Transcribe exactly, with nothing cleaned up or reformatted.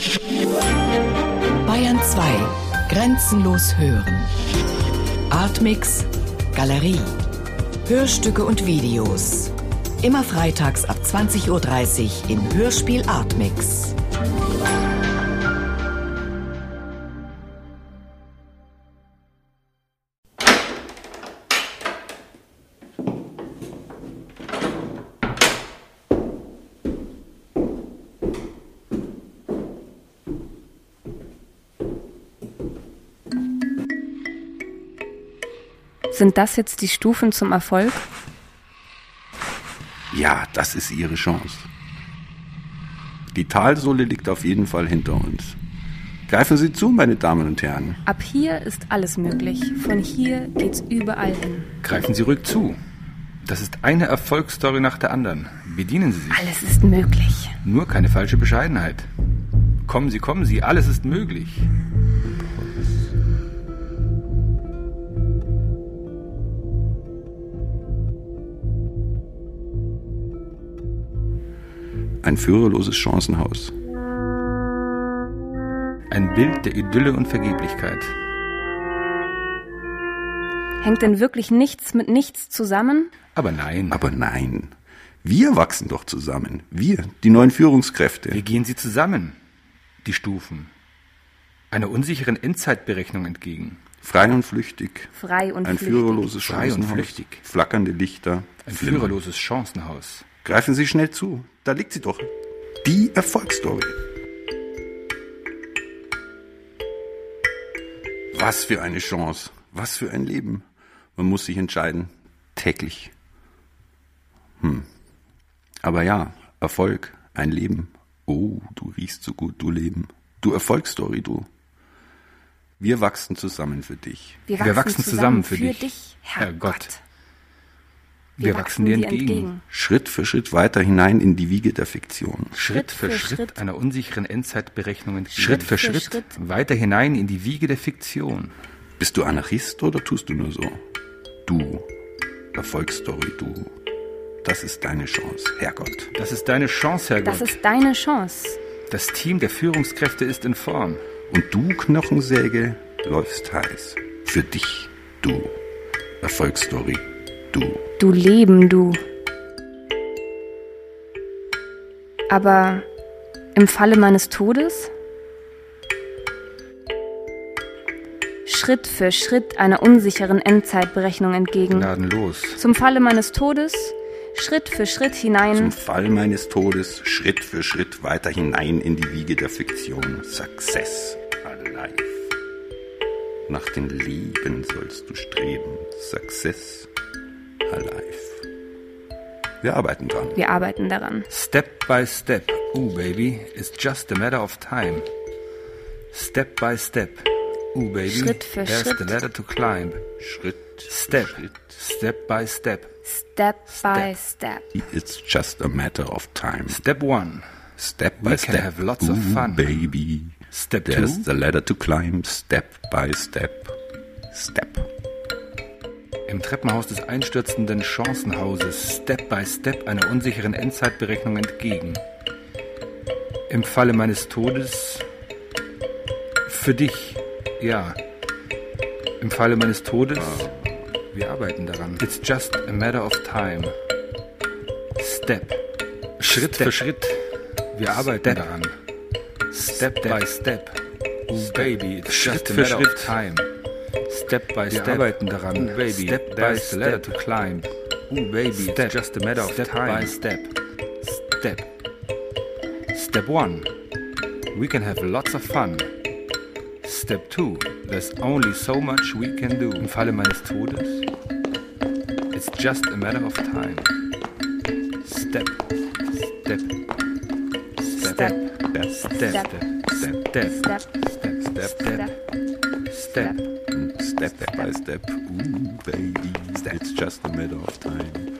Bayern zwei. Grenzenlos hören. Artmix Galerie. Hörstücke und Videos. Immer freitags ab zwanzig Uhr dreißig im Hörspiel Artmix. Sind das jetzt die Stufen zum Erfolg? Ja, das ist Ihre Chance. Die Talsohle liegt auf jeden Fall hinter uns. Greifen Sie zu, meine Damen und Herren. Ab hier ist alles möglich. Von hier geht's überall hin. Greifen Sie ruhig zu. Das ist eine Erfolgsstory nach der anderen. Bedienen Sie sich. Alles ist möglich. Nur keine falsche Bescheidenheit. Kommen Sie, kommen Sie, alles ist möglich. Ein führerloses Chancenhaus. Ein Bild der Idylle und Vergeblichkeit. Hängt denn wirklich nichts mit nichts zusammen? Aber nein. Aber nein. Wir wachsen doch zusammen. Wir, die neuen Führungskräfte. Wie gehen sie zusammen? Die Stufen. Einer unsicheren Endzeitberechnung entgegen. Frei und flüchtig. Frei und Ein flüchtig. führerloses Frei und Chancenhaus. flüchtig. Flackernde Lichter. Ein Flimmern. führerloses Chancenhaus. Greifen Sie schnell zu. Da liegt sie doch. Die Erfolgsstory. Was für eine Chance. Was für ein Leben. Man muss sich entscheiden. Täglich. Hm. Aber ja, Erfolg, ein Leben. Oh, du riechst so gut, du Leben. Du Erfolgsstory, du. Wir wachsen zusammen für dich. Wir wachsen, Wir wachsen zusammen für dich, dich, Herrgott. Herrgott. Wir, Wir wachsen dir entgegen. entgegen. Schritt für Schritt weiter hinein in die Wiege der Fiktion. Schritt für Schritt, Schritt einer unsicheren Endzeitberechnung entgegen. Schritt Schritt für für Schritt, Schritt weiter hinein in die Wiege der Fiktion. Bist du Anarchist oder tust du nur so? Du, Erfolgsstory, du. Das ist deine Chance, Herrgott. Das ist deine Chance, Herrgott. Das ist deine Chance. Das Team der Führungskräfte ist in Form. Und du, Knochensäge, läufst heiß. Für dich, du. Erfolgsstory, du. Du Leben, du. Aber im Falle meines Todes? Schritt für Schritt einer unsicheren Endzeitberechnung entgegen. Gnadenlos. Zum Falle meines Todes, Schritt für Schritt hinein. Zum Fall meines Todes, Schritt für Schritt weiter hinein in die Wiege der Fiktion. Success alive. Nach dem Leben sollst du streben. Success alive. Wir arbeiten dran. Wir arbeiten daran. Step by step, ooh baby, it's just a matter of time. Step by step, ooh baby, Schritt für there's Schritt. the ladder to climb. Schritt, Step, Schritt. step by step. Step by step. It's just a matter of time. Step one, Step by we step. can have lots Ooh, of fun. baby. Step There's two, the ladder to climb. Step by step. Step. im Treppenhaus des einstürzenden Chancenhauses, Step by Step einer unsicheren Endzeitberechnung entgegen. Im Falle meines Todes, für dich, ja. Im Falle meines Todes, wir arbeiten daran. It's just a matter of time. Step, Schritt Step. für Schritt, wir arbeiten daran. Step, by Step, oh baby, it's Schritt just a für matter Schritt. of time. Step by Wir step, arbeiten daran. oh baby, Step by there's the ladder step. to climb. Oh baby, Step. it's just a matter of Step time. by step, step. Step one, we can have lots of fun. Step two, there's only so much we can do. Im Falle meines Todes, it's just a matter of time. Step, step, step, step, step, step, step, step, step, step, step. Step by step. Ooh, baby. It's just a matter of time.